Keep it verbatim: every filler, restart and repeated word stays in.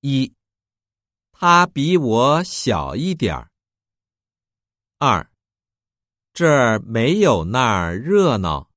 一，他比我小一点儿。二，这儿没有那儿热闹。